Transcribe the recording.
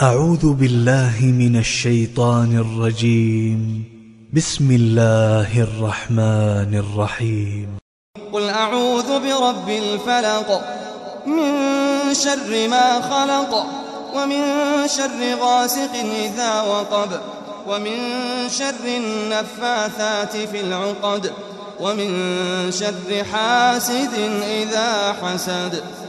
أعوذ بالله من الشيطان الرجيم. بسم الله الرحمن الرحيم. قل أعوذ برب الفلق من شر ما خلق ومن شر غاسق إذا وقب ومن شر النفاثات في العقد ومن شر حاسد إذا حسد.